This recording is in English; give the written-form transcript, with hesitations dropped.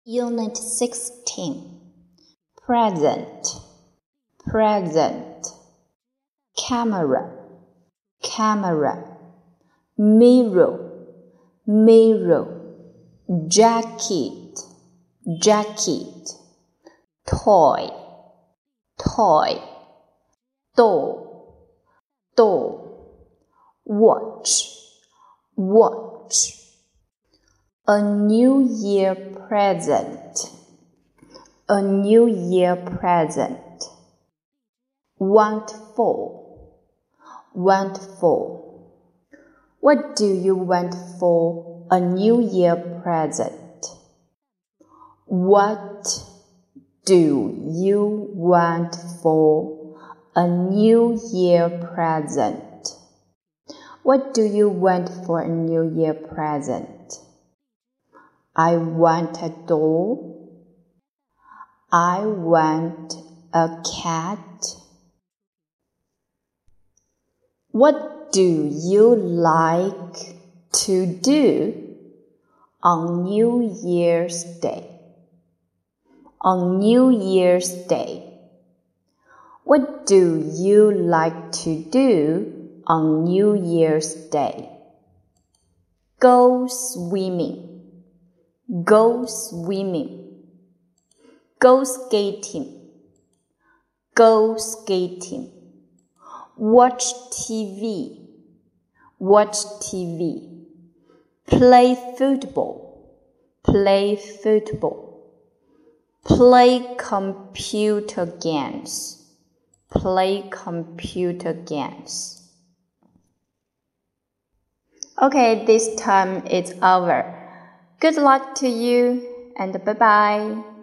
Unit 16. Present, present. Camera, camera. Mirror, mirror. Jacket, jacket. Toy, toy. Door, door. Watch, watch. A New Year present, a New Year present. Want for, want for. What do you want for a New Year present? What do you want for a New Year present? What do you want for a New Year present? I want a doll. I want a cat. What do you like to do on New Year's Day? On New Year's Day. What do you like to do on New Year's Day? Go swimming. Go swimming. Go skating. Go skating. Watch TV. Watch TV. Play football. Play football. Play computer games. Play computer games. Okay, this time it's over. Good luck to you and bye-bye.